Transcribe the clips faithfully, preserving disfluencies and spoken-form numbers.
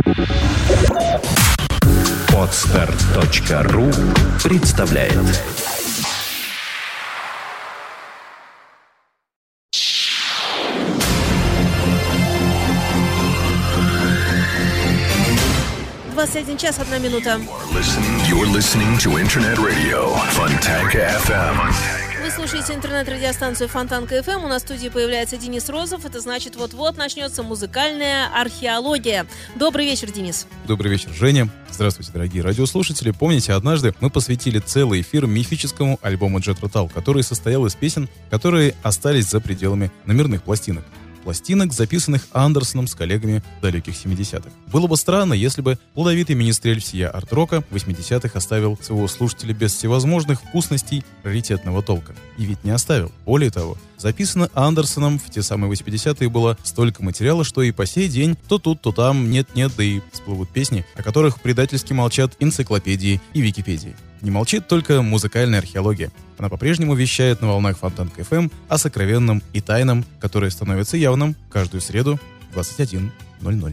Подстар точка ру представляет. двадцать один час, одна минута. You're listening to Internet Radio Fontanka эф эм. Вы слушаете интернет-радиостанцию Фонтанка эф эм. У нас в студии появляется Денис Розов. Это значит, вот-вот начнется музыкальная археология. Добрый вечер, Денис. Добрый вечер, Женя. Здравствуйте, дорогие радиослушатели. Помните, однажды мы посвятили целый эфир мифическому альбому Джethро Tull, который состоял из песен, которые остались за пределами номерных пластинок. Пластинок, записанных Андерсоном с коллегами в далеких семидесятых. Было бы странно, если бы плодовитый министрель всея арт-рока восьмидесятых оставил своего слушателя без всевозможных вкусностей раритетного толка. И ведь не оставил. Более того, записано Андерсоном в те самые восьмидесятые было столько материала, что и по сей день то тут, то там, нет-нет, да и всплывут песни, о которых предательски молчат энциклопедии и Википедии. Не молчит только музыкальная археология. Она по-прежнему вещает на волнах Фонтанка эф эм о сокровенном и тайном, которое становится явным каждую среду в двадцать один ноль ноль.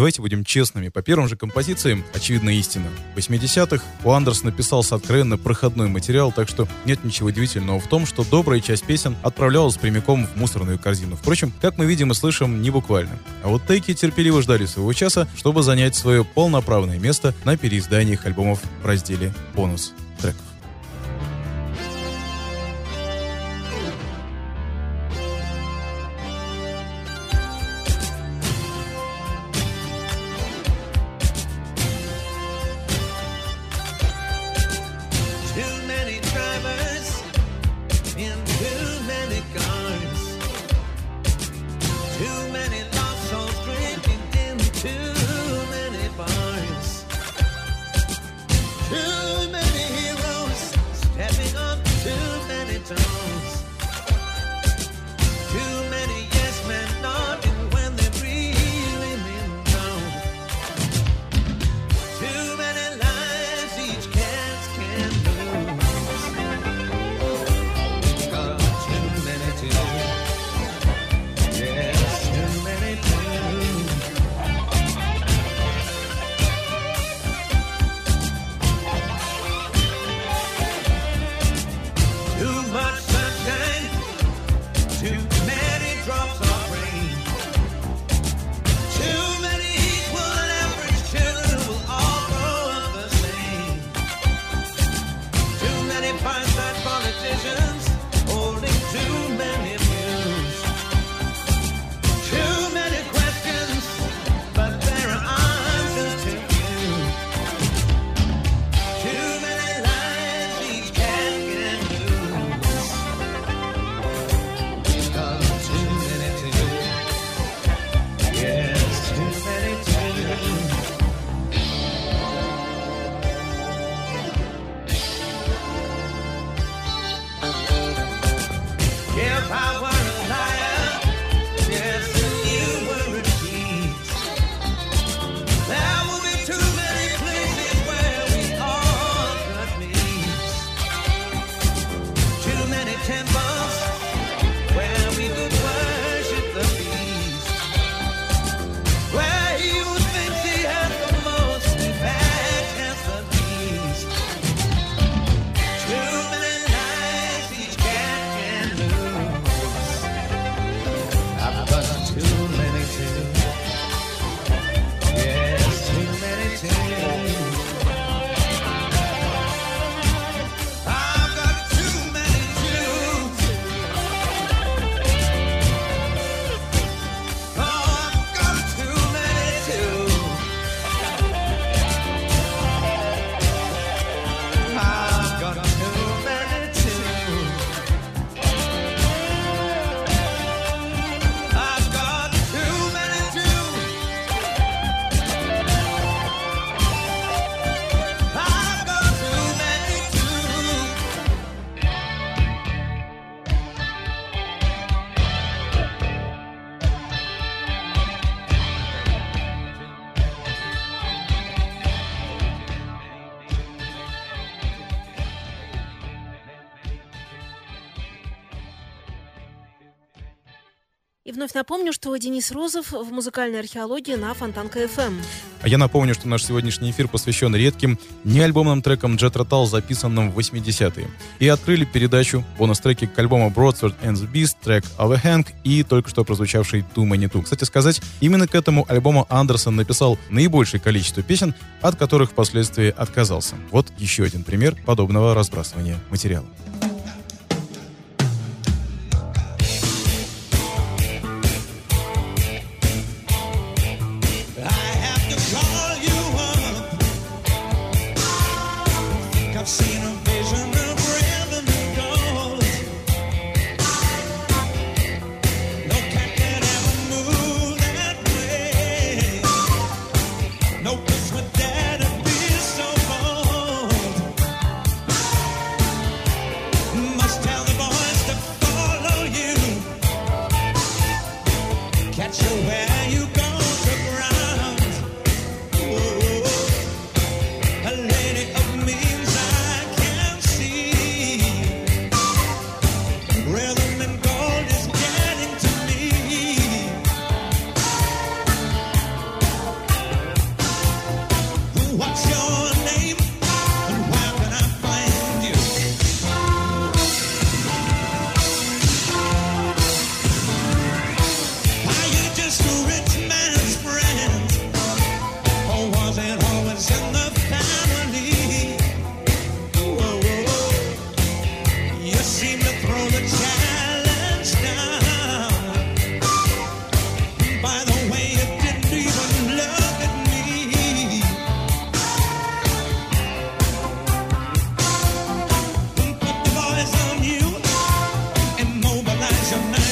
Давайте будем честными. По первым же композициям очевидна истина. В восьмидесятых у Андерсона писался откровенно проходной материал, так что нет ничего удивительного в том, что добрая часть песен отправлялась прямиком в мусорную корзину. Впрочем, как мы видим и слышим, не буквально. А вот тейки терпеливо ждали своего часа, чтобы занять свое полноправное место на переизданиях альбомов в разделе «Бонус треков». И вновь напомню, что Денис Розов в музыкальной археологии на Фонтанка эф эм. А я напомню, что наш сегодняшний эфир посвящен редким, неальбомным трекам Jethro Tull, записанным в восьмидесятые. И открыли передачу бонус-треки к альбому Broadsword and the Beast, трек Overhang и только что прозвучавший Too Many Too. Кстати сказать, именно к этому альбому Андерсон написал наибольшее количество песен, от которых впоследствии отказался. Вот еще один пример подобного разбрасывания материала. That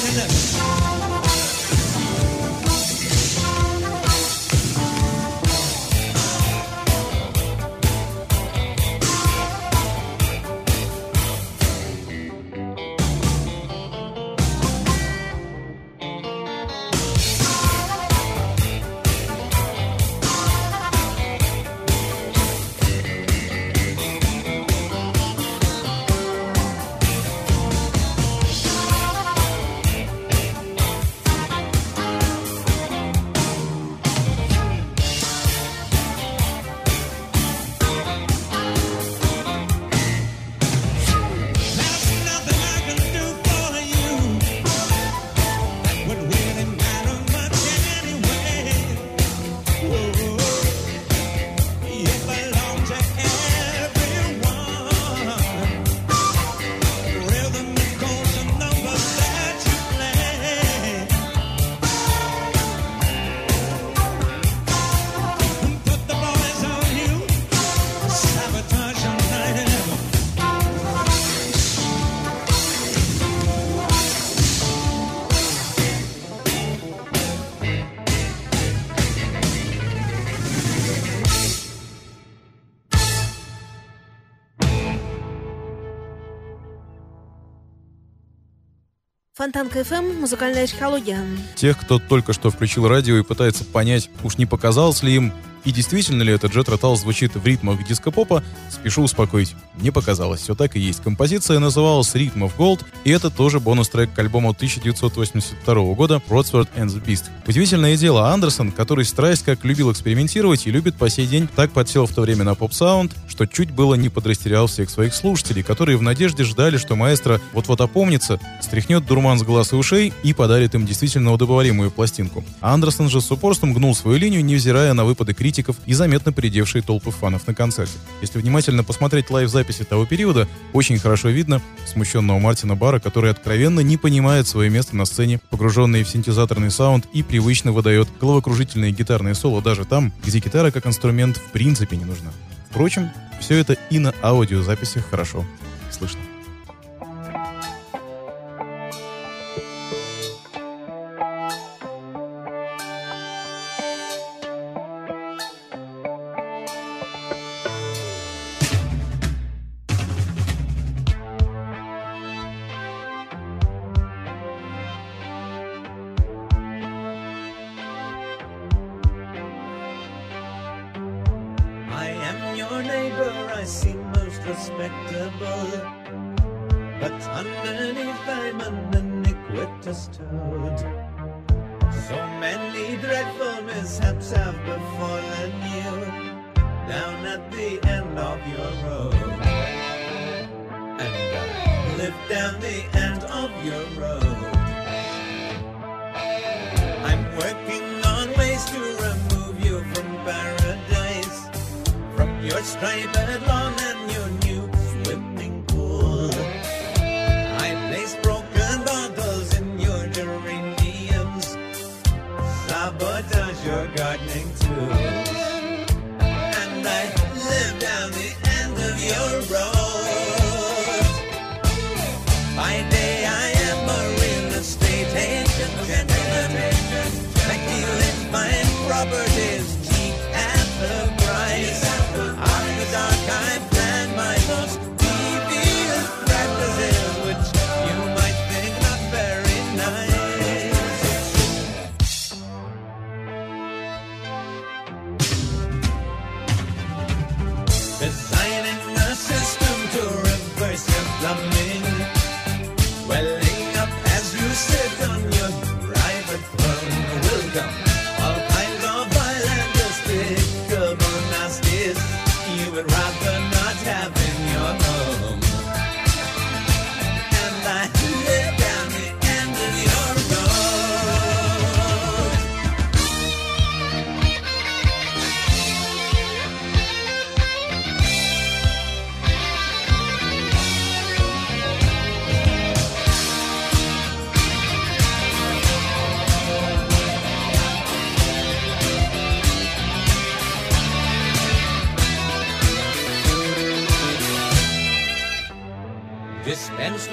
Фонтанка эф эм, музыкальная археология. Тех, кто только что включил радио и пытается понять, уж не показалось ли им, и действительно ли этот Jethro Tull звучит в ритмах диско-попа, спешу успокоить. Не показалось, все так и есть. Композиция называлась «Rhythm of Gold», и это тоже бонус-трек к альбому тысяча девятьсот восемьдесят второго года «Broadsword and the Beast». Удивительное дело, Андерсон, который страсть как любил экспериментировать и любит по сей день, так подсел в то время на поп-саунд, что чуть было не подрастерял всех своих слушателей, которые в надежде ждали, что маэстро вот-вот опомнится, стряхнет дурман с глаз и ушей и подарит им действительно удобоваримую пластинку. А Андерсон же с упорством гнул свою линию, невзирая на выпады критиков и заметно поредевшие толпы фанов на концерте. Если внимательно посмотреть лайв-записи того периода, очень хорошо видно смущенного Мартина Барра, который откровенно не понимает свое место на сцене, погруженный в синтезаторный саунд и привычно выдает головокружительные гитарные соло даже там, где гитара как инструмент в принципе не нужна. Впрочем, все это и на аудиозаписях хорошо слышно.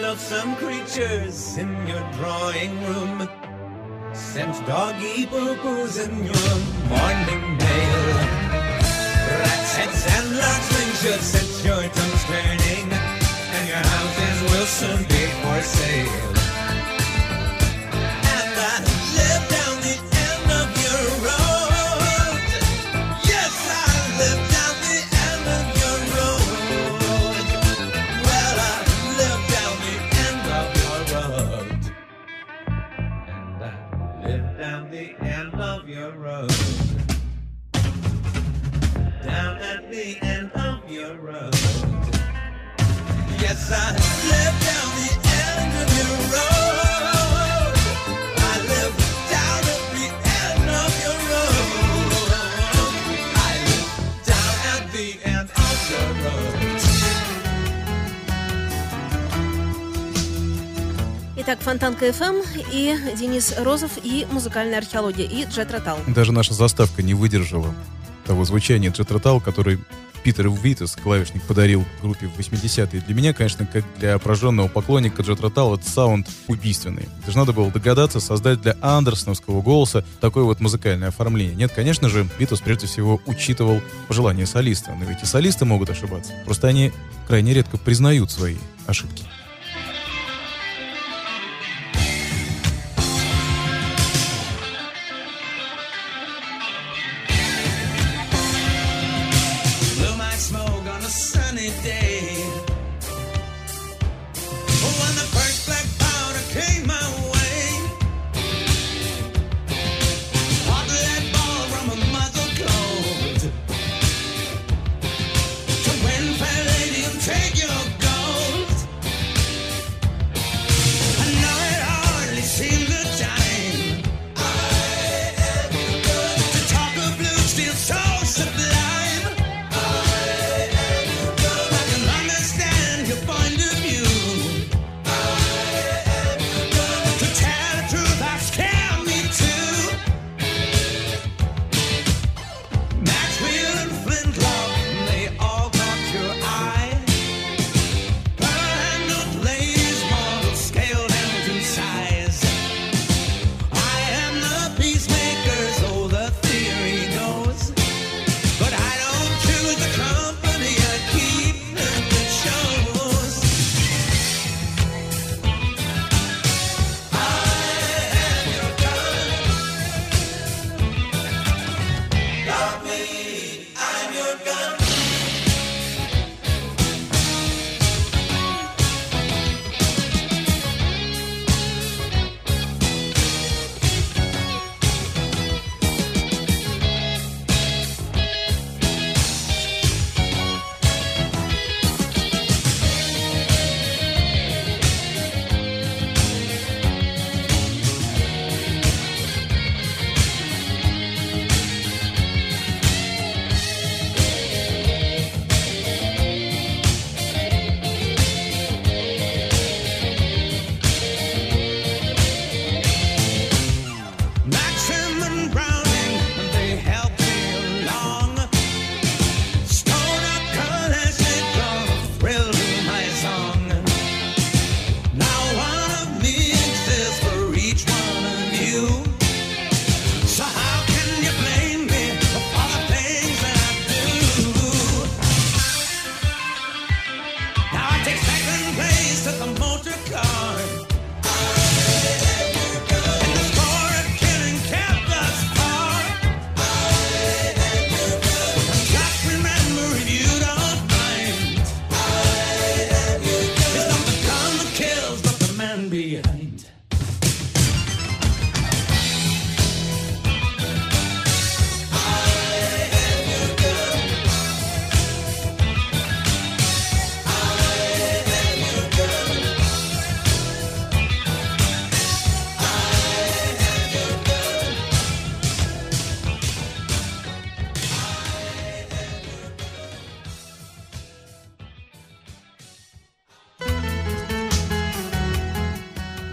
loathsome creatures in your drawing room. Sent doggy poo-poos in your morning mail. Rats, heads, and large wings should set your tongues turning, and your houses will soon be for sale. And I live down the end of your road. Yes, I live down the end of your road. Well, I live down the end of your road. And I live down the end of your road. Down at the end of your road. Yes, I live down the end of your road. I live down at the end of your road. I live down at the end of your road. Итак, Фонтанка эф эм и Денис Розов, и музыкальная археология, и Джет Ротал. Даже наша заставка не выдержала того звучания Джет Ротал, который Питер Витас, клавишник, подарил группе в восьмидесятые. Для меня, конечно, как для прожженного поклонника Джет Ротал, этот саунд убийственный. Даже надо было догадаться создать для андерсоновского голоса такое вот музыкальное оформление. Нет, конечно же, Витас прежде всего учитывал пожелания солиста. Но ведь и солисты могут ошибаться. Просто они крайне редко признают свои ошибки.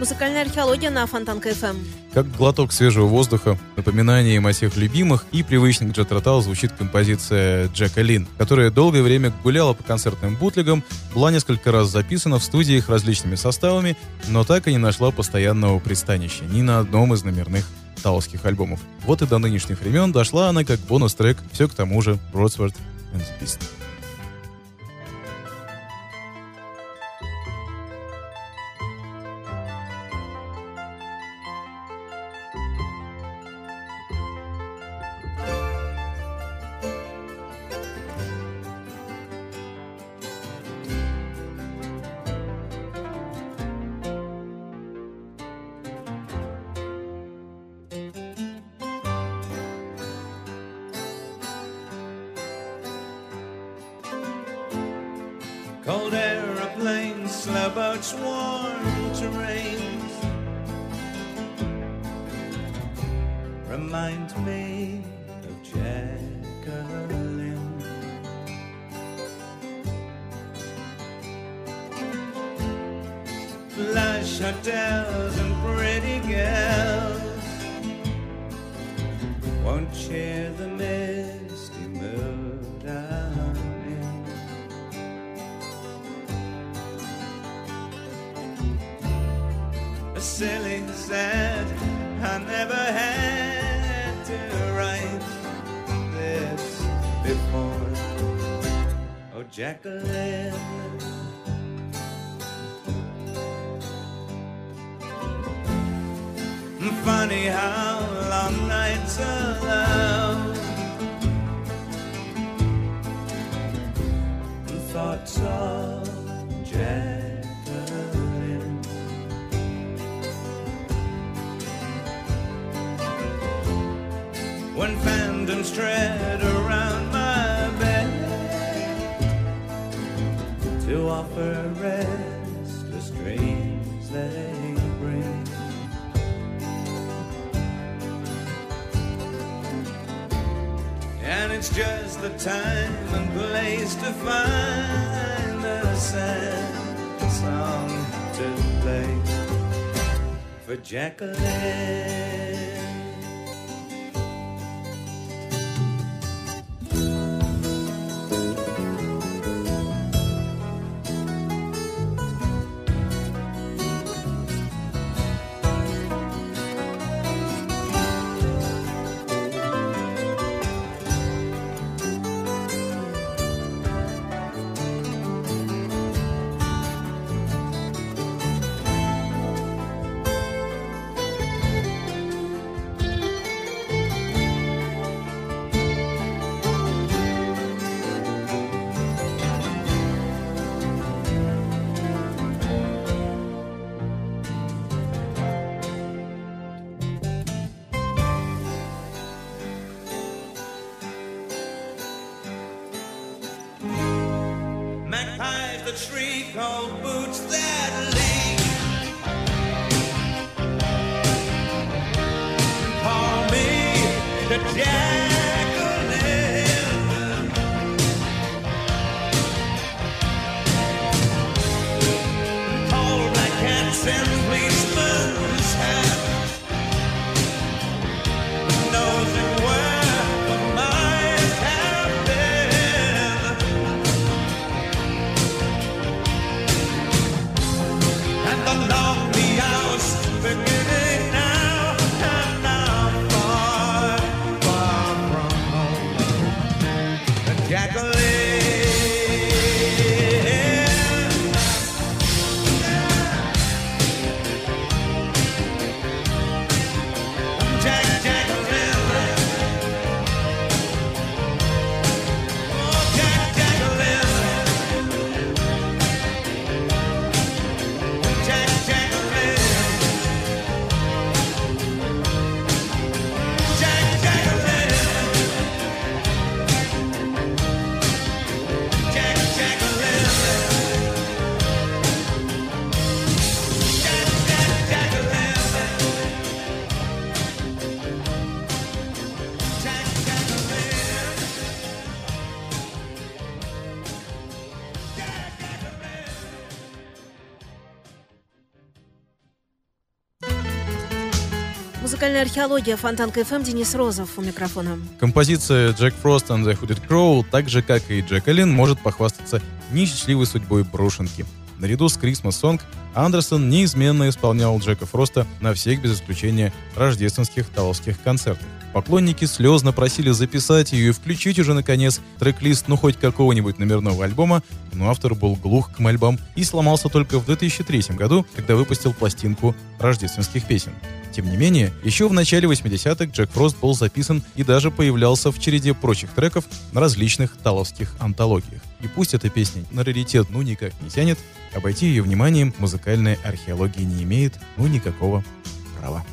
Музыкальная археология на Фонтанка эф эм. Как глоток свежего воздуха, напоминанием о всех любимых и привычных Jet Rotal звучит композиция Джека Лин, которая долгое время гуляла по концертным бутлегам, была несколько раз записана в студиях различными составами, но так и не нашла постоянного пристанища ни на одном из номерных таосских альбомов. Вот и до нынешних времен дошла она как бонус-трек все к тому же Broadsword and the Beast. Cold aeroplanes, slow boats, warm terrains remind me of Jacqueline. Flush hotels and pretty girls won't share the misty mood I'm in. Silly, sad, I never had to write this before. Oh, Jacqueline, funny how long nights alone thoughts of Jacqueline. When phantoms tread around my bed to offer restless dreams they bring, and it's just the time and place to find a sad song to play for Jacqueline. Magpies that shriek, old boots that leak. Call me the Jacqueline. Tall black cats and policemen's hats. Knows where the mice have been. And the lonely hours beginning now, and now far, far Музыкальная археология. Фонтанка эф эм. Денис Розов у микрофона. Композиция Jack Frost and the Hooded Crow, так же как и Джеколин, может похвастаться несчастливой судьбой брошенки. Наряду с Christmas Song Андерсон неизменно исполнял Джека Фроста на всех без исключения рождественских талловских концертах. Поклонники слезно просили записать ее и включить уже, наконец, трек-лист ну хоть какого-нибудь номерного альбома, но автор был глух к мольбам и сломался только в две тысячи третьем году, когда выпустил пластинку рождественских песен. Тем не менее, еще в начале восьмидесятых Джек Фрост был записан и даже появлялся в череде прочих треков на различных талловских антологиях. И пусть эта песня на раритет ну никак не тянет, обойти ее вниманием музыкальная археология не имеет ну никакого права.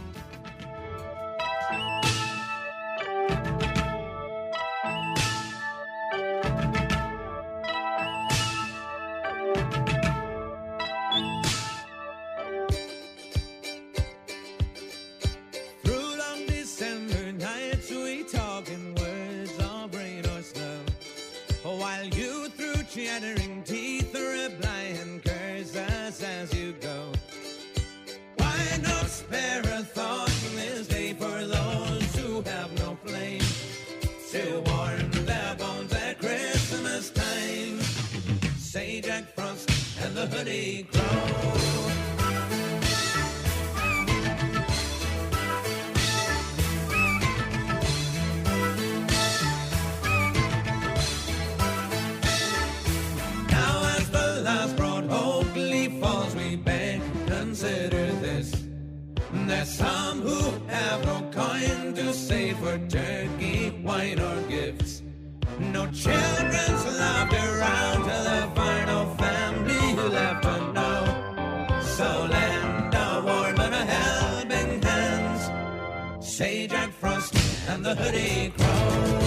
Chattering teeth reply and curse us as you go. Why not spare a thought in this day for those who have no flame to warm their bones at Christmas time? Say Jack Frost and the Hooded Crow. Consider this. There's some who have no coin to save for turkey, wine, or gifts. No children's loved around till they find no family left to know. So lend a warm and a helping hand. Say Jack Frost and the Hooded Crow.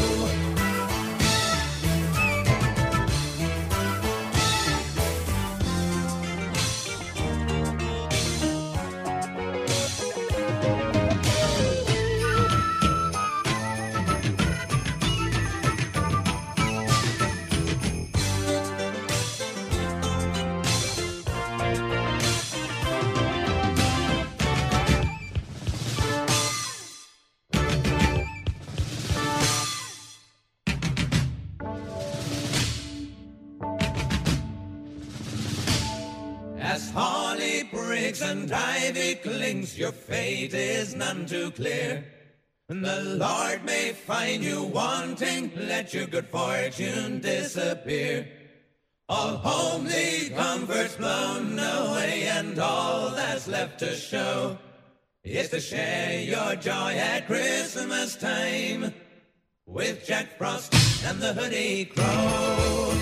As holly breaks and ivy clings, your fate is none too clear. The Lord may find you wanting, let your good fortune disappear. All homely comforts blown away, and all that's left to show is to share your joy at Christmas time with Jack Frost and the Hooded Crow.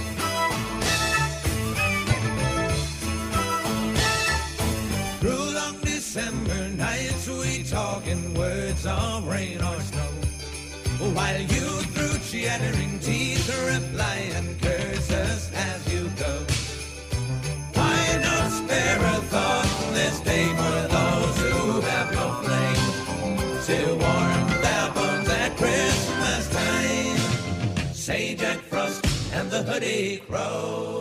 Through long December nights we talk in words of rain or snow, while you through chattering teeth reply and curse us as you go. Why not spare a thought this day for those who have no flame to warm their bones at Christmas time? Say Jack Frost and the Hooded Crow.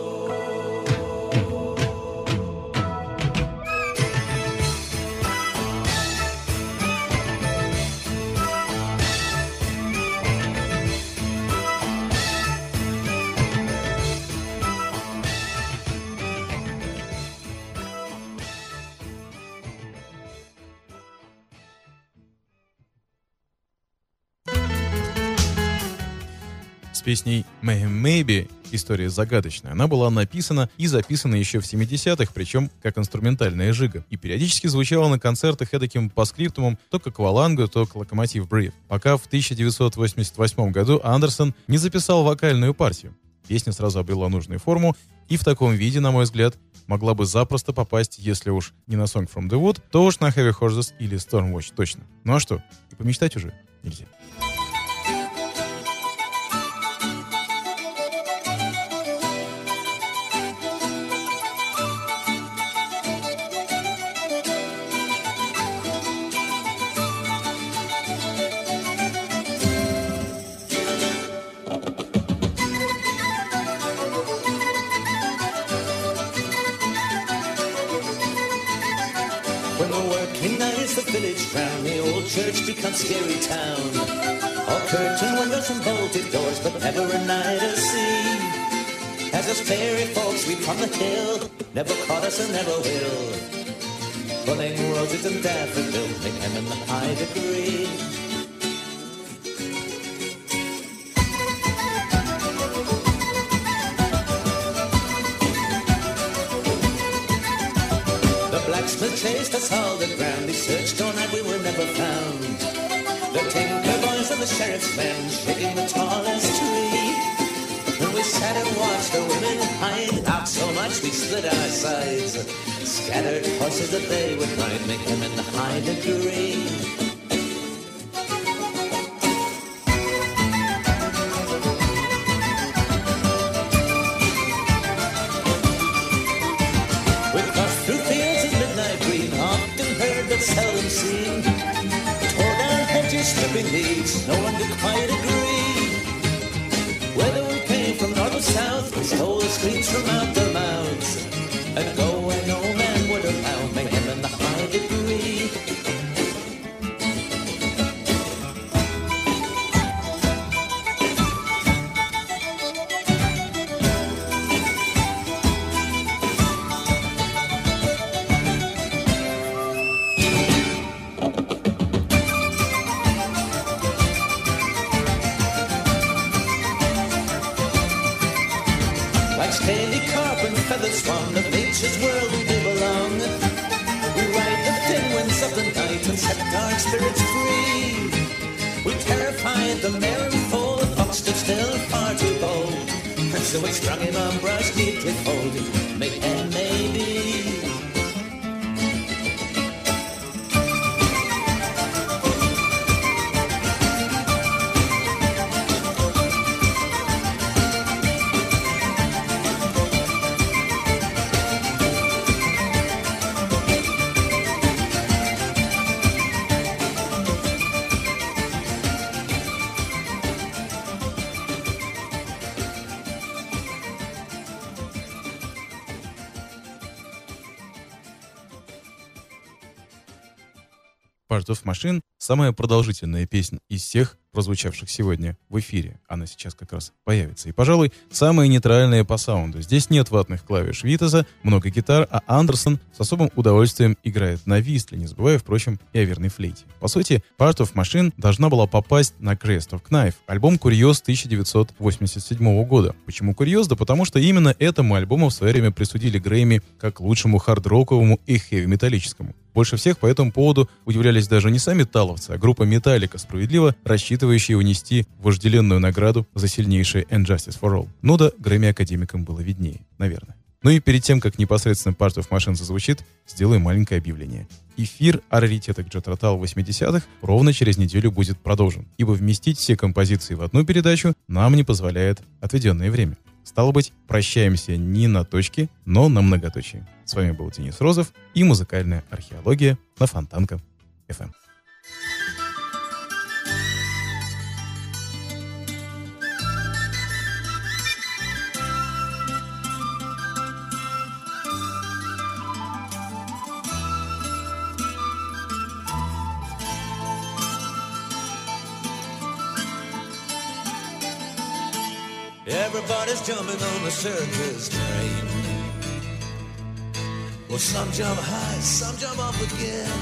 С песней «Maybe» история загадочная. Она была написана и записана еще в семидесятых, причем как инструментальная жига. И периодически звучала на концертах эдаким паскриптумом то к аквалангу, то к Locomotive Breath. Пока в тысяча девятьсот восемьдесят восьмом году Андерсон не записал вокальную партию. Песня сразу обрела нужную форму и в таком виде, на мой взгляд, могла бы запросто попасть, если уж не на Song from the Wood, то уж на Heavy Horses или Stormwatch точно. Ну а что, и помечтать уже нельзя. When the working nights, the village ground, the old church becomes scary town. All curtain windows and bolted doors, but never a night to see. As us fairy folks we from the hill, never caught us and never will. Pulling roses and daffodils, make them in the high degree. Blacksmith chased us all the ground. He searched all night, we were never found. The tinker boys and the sheriff's men shaking the tallest tree. And we sat and watched the women hide out so much we split our sides. Scattered horses that they would ride, make them in the high degree. Seldom seen. Tore down hedges, stripping leaves, no one could quite agree. Whether we came from north or south, we stole the streets from out their mouths. And go where no man would allow, make him in the high degree. Swan of nature's world we belong. We ride the thin winds of the night and set our spirits free. We terrified the mare and foal, the fox stood still far too bold. And so we strung him on brush neatly folded, make him maybe. Part of Machine — самая продолжительная песня из всех прозвучавших сегодня в эфире. Она сейчас как раз появится. И, пожалуй, самая нейтральная по саунду. Здесь нет ватных клавиш Витаса, много гитар, а Андерсон с особым удовольствием играет на вистле, не забывая, впрочем, и о верной флейте. По сути, Part of Machine должна была попасть на Crest of Knife, альбом «Курьез» тысяча девятьсот восемьдесят седьмого года. Почему «Курьез»? Да потому что именно этому альбому в свое время присудили Грэмми как лучшему хард-роковому и хэви-металлическому. Больше всех по этому поводу удивлялись даже не сами таловцы, а группа Metallica, справедливо рассчитывающая унести вожделенную награду за сильнейшее And Justice for All. Ну да, Грэмми-академикам было виднее, наверное. Ну и перед тем, как непосредственно Part of Machine зазвучит, сделаю маленькое объявление. Эфир о раритетах Jethro Tull восьмидесятых ровно через неделю будет продолжен, ибо вместить все композиции в одну передачу нам не позволяет отведенное время. Стало быть, прощаемся не на точке, но на многоточие. С вами был Денис Розов и музыкальная археология на Фонтанка эф эм. Everybody's jumping on the circus train. Well, some jump high, some jump off again.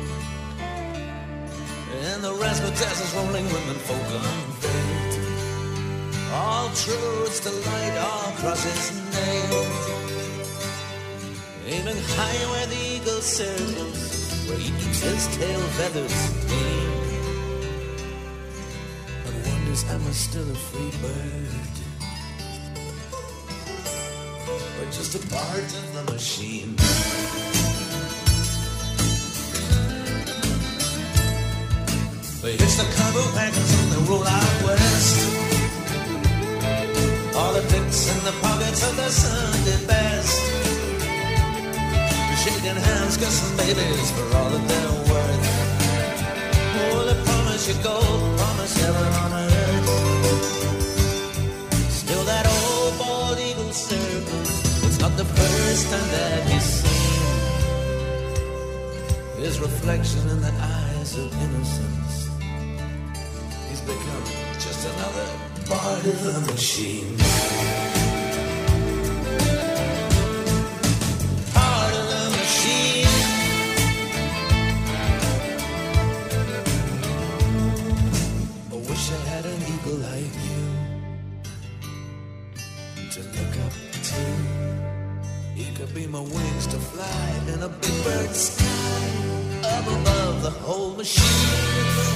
And the razzmatazz rolling women folk unveiled. All truths to light, all crosses nailed. Aiming high where the eagle circles, where he keeps his tail feathers clean. And wonders, am I still a free bird? Or just a part of the machine? They hitch the cargo wagons and they roll out west. All the dicks in the pockets of the Sunday best. Shaking hands, kissing babies for all that they're worth. Oh, they promise you gold, promise heaven on earth. Still that old bald eagle circles, it's not the first time that he's seen. his reflection in the eyes of innocence. He's become just another part of the machine. Part of the machine. I wish I had an eagle like you to look up to. He could be my wings to fly in a big bird sky up above the whole machine.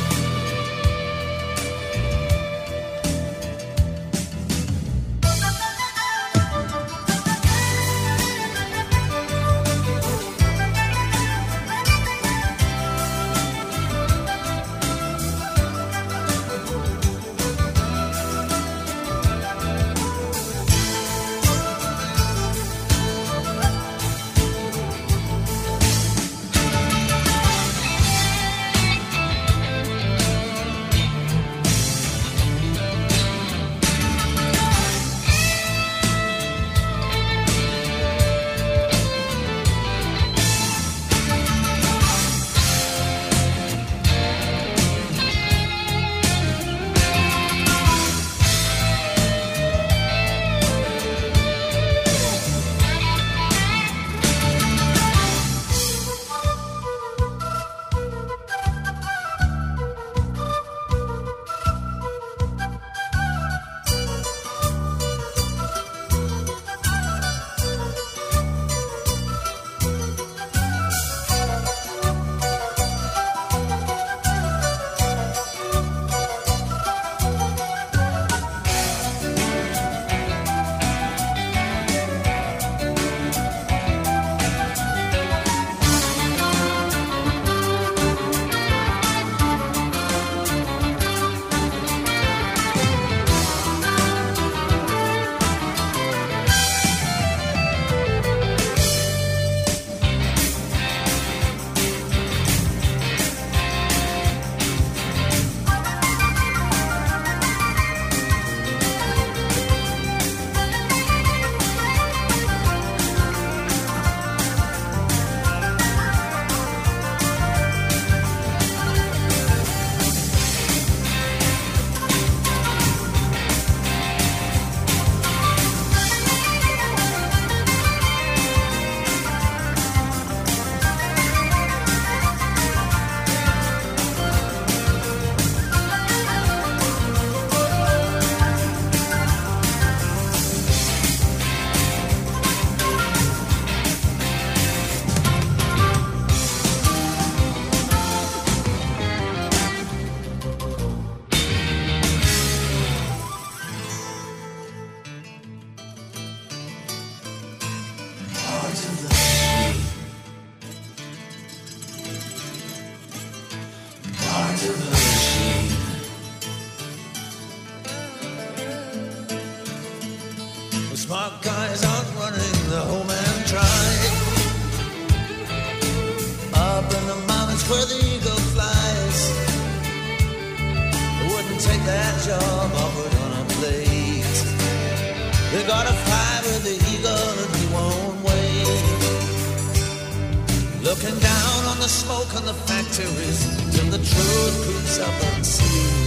Smart guys aren't running the home and try. Up in the mountains where the eagle flies, they wouldn't take that job offered on a plate. They gotta fly with the eagle and he won't wait. Looking down on the smoke in the factories till the truth creeps up unseen.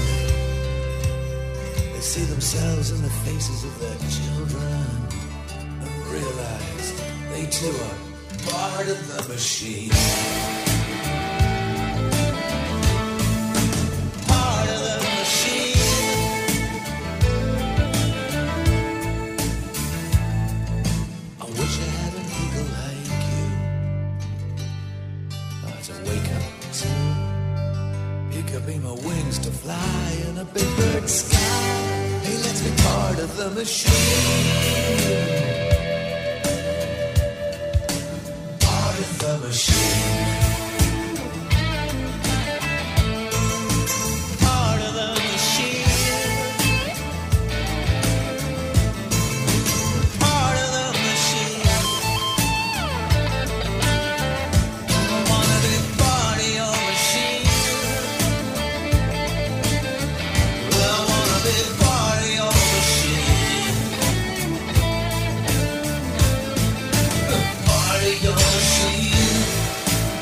They see themselves in the faces of their children and realize they too are part of the machine. Part of the machine. I wish I had an eagle like you uh, to wake up to. He could be my wings to fly in a big bird sky. He lets me part of the machine. Part of the machine. Part of the machine. Part of the machine. I wanna be part of your machine. I wanna be part of your machine. Part of your machine.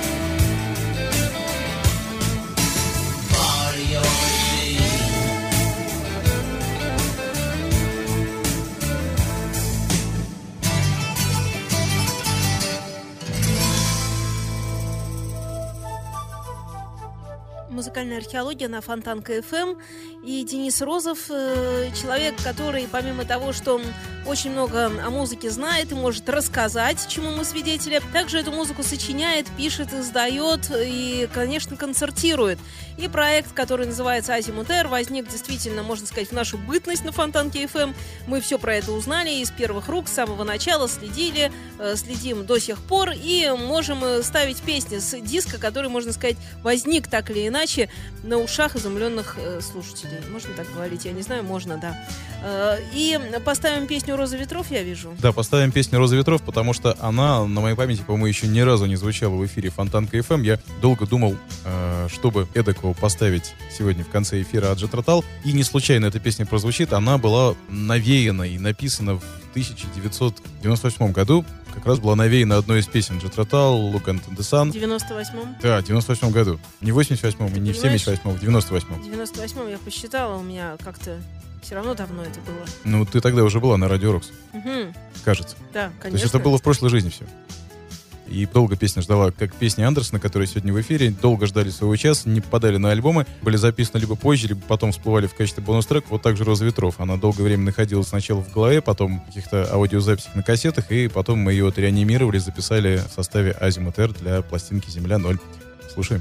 музыкальная археология на Фонтанка эф эм. И Денис Розов, э, человек, который, помимо того, что он очень много о музыке знает и может рассказать, чему мы свидетели, также эту музыку сочиняет, пишет, издает и, конечно, концертирует. И проект, который называется «Азимут Эр», возник действительно, можно сказать, в нашу бытность на Фонтанке эф эм. Мы все про это узнали из первых рук, с самого начала следили, э, следим до сих пор и можем ставить песни с диска, который, можно сказать, возник так или иначе на ушах изумленных э, слушателей. Можно так говорить? Я не знаю, можно, да. Э, и поставим песню «Роза ветров», я вижу. Да, поставим песню «Роза ветров», потому что она на моей памяти, по-моему, еще ни разу не звучала в эфире Фонтанка эф эм. Я долго думал, э, чтобы эдакого поставить сегодня в конце эфира от Jet Rotal. И не случайно эта песня прозвучит. Она была навеяна и написана в тысяча девятьсот девяносто восьмом году. Как раз была навеяна одной из песен Jet Rotal, Look into the Sun. В девяносто восьмом? Да, в девяносто восьмом году. Не в восемьдесят восьмом и не в семьдесят восьмом, в девяносто восьмом. В девяносто восьмом я посчитала, у меня как-то все равно давно это было. Ну, ты тогда уже была на Радио Рокс. Угу. Кажется. Да, конечно. То есть это было в прошлой жизни все. И долго песня ждала, как песни Андерсона, которые сегодня в эфире, долго ждали своего часа, не попадали на альбомы, были записаны либо позже, либо потом всплывали в качестве бонус-трека. Вот так же «Роза ветров». Она долгое время находилась сначала в голове, потом в каких-то аудиозаписях на кассетах, и потом мы ее отреанимировали, записали в составе «Азимут Эр» для пластинки «Земля ноль». Слушаем.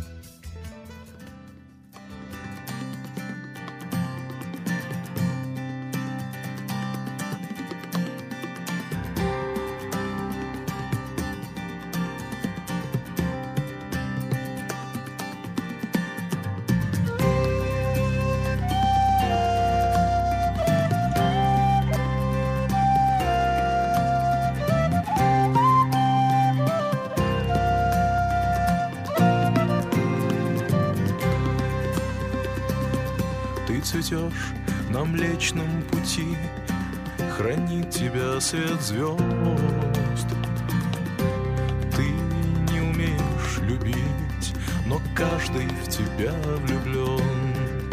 Цветешь на Млечном пути, хранит тебя свет звезд. Ты не умеешь любить, но каждый в тебя влюблен.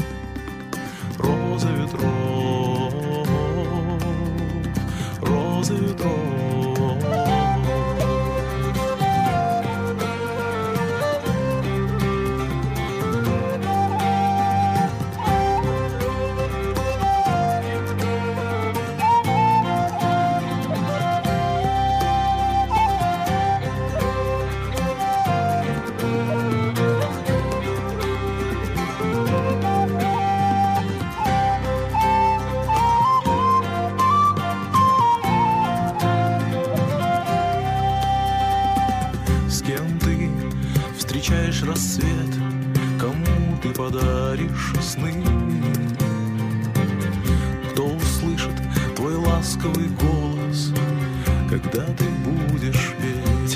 Роза ветров, роза ветров. Рассвет, кому ты подаришь сны? Кто услышит твой ласковый голос, когда ты будешь петь?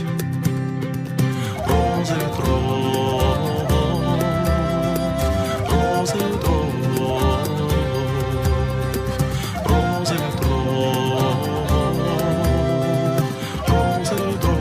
Роза ветров, роза ветров, роза ветров, роза ветров.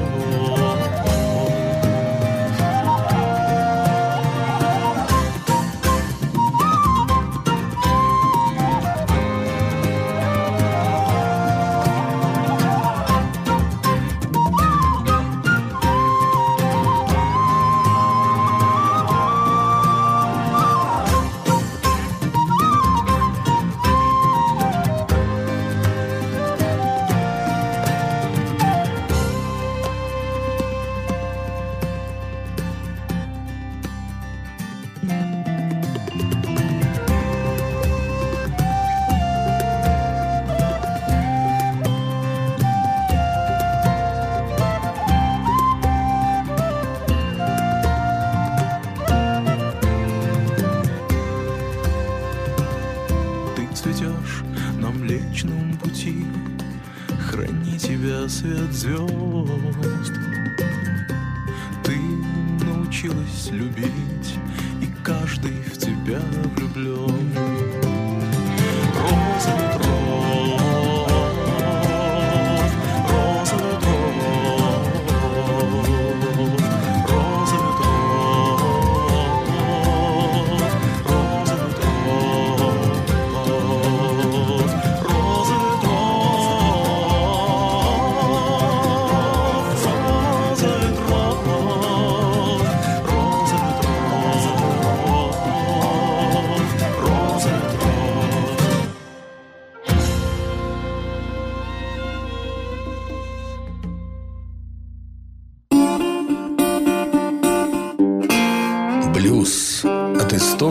Цветешь на Млечном пути, храни тебя свет звезд. Ты научилась любить, и каждый в тебя влюблен. Роза ветров, роза ветров, роза ветров, роза ветров. Роза ветров, роза ветров,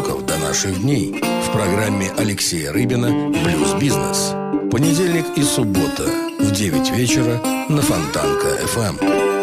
звуков до наших дней в программе Алексея Рыбина «Блюз-бизнес». Понедельник и суббота в девять вечера на Фонтанка эф эм.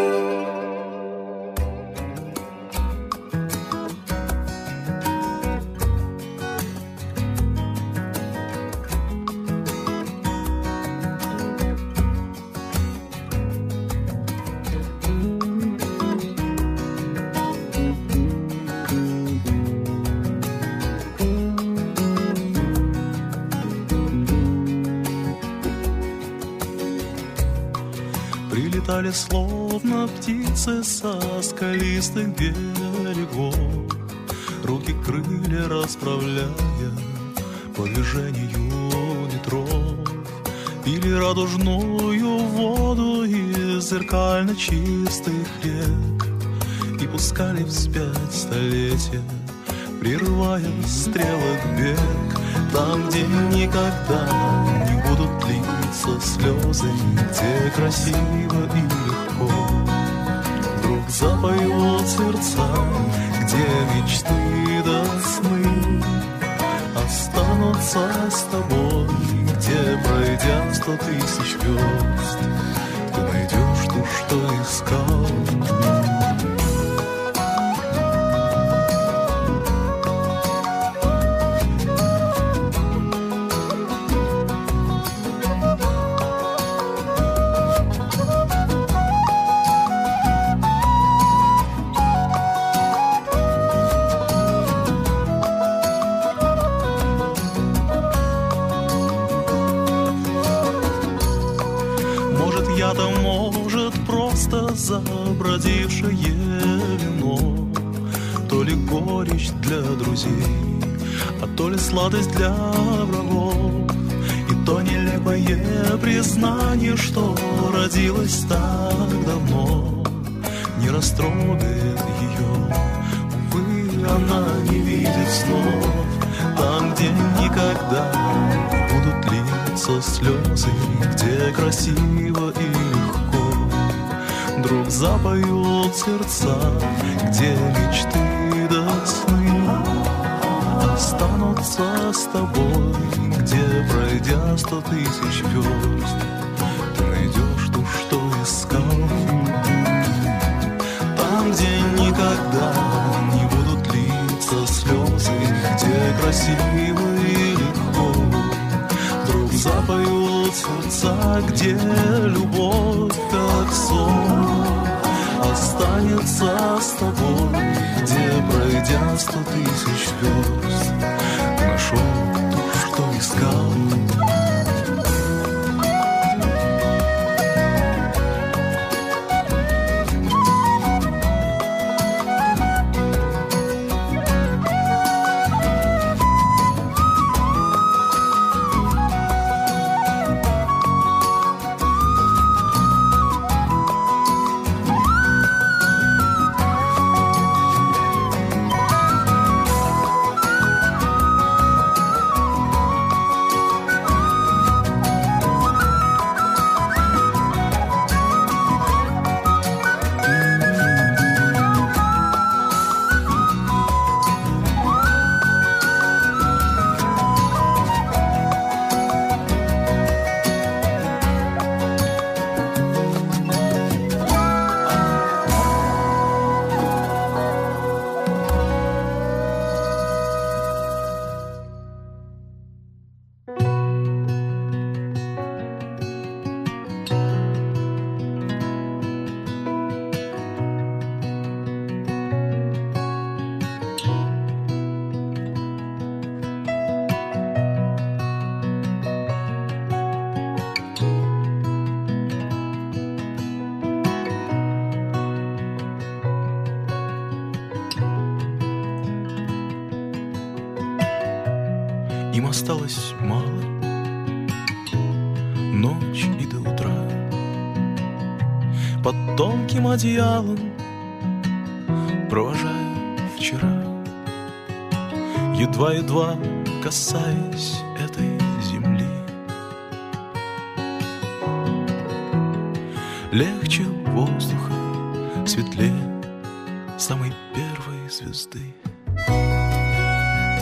Прилетали словно птицы со скалистых берегов, руки крылья расправляя по движению ветров, пили радужную воду из зеркально чистых рек и пускали вспять столетия, прерывая стрелок бег. Там, где никогда не будут литься слезы, где красиво и легко вдруг запоют сердца, где мечты до сны останутся с тобой, где, пройдя сто тысяч верст, ты найдешь то, что искал. Забродившее вино, то ли горечь для друзей, а то ли сладость для врагов, и то нелепое признание, что родилось так давно, не растрогает ее. Увы, она не видит снов, там, где никогда не будут литься слезы, где красиво и легко вдруг запоют сердца, где мечты до сны останутся с тобой, где, пройдя сто тысяч верст, ты найдешь то, что искал. Там, где никогда не будут литься слезы, где красиво и легко вдруг запоют сердца, где любовь как сон останется с тобой, где, пройдя сто тысяч верст, ты нашел то, что искал. Им осталось мало, ночь и до утра. Под тонким одеялом провожаю вчера, едва-едва касаясь этой земли. Легче воздуха, светлее самой первой звезды.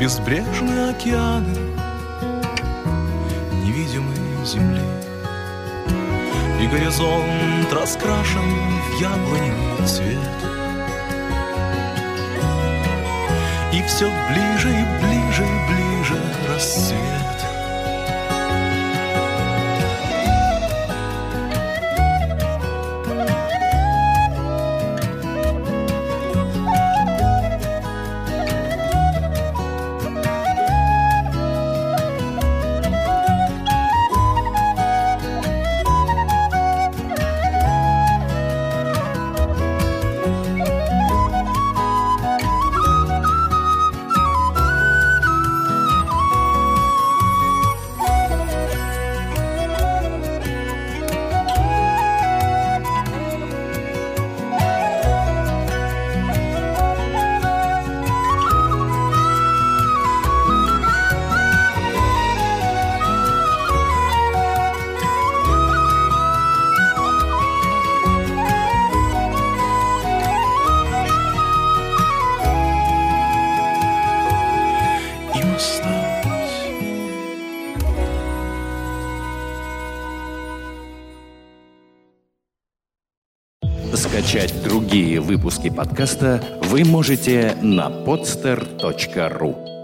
безбрежные океаны невидимой земли. И горизонт раскрашен в яблоневый цвет. И все ближе и ближе и ближе рассвет. Скачать другие выпуски подкаста вы можете на podster точка ру.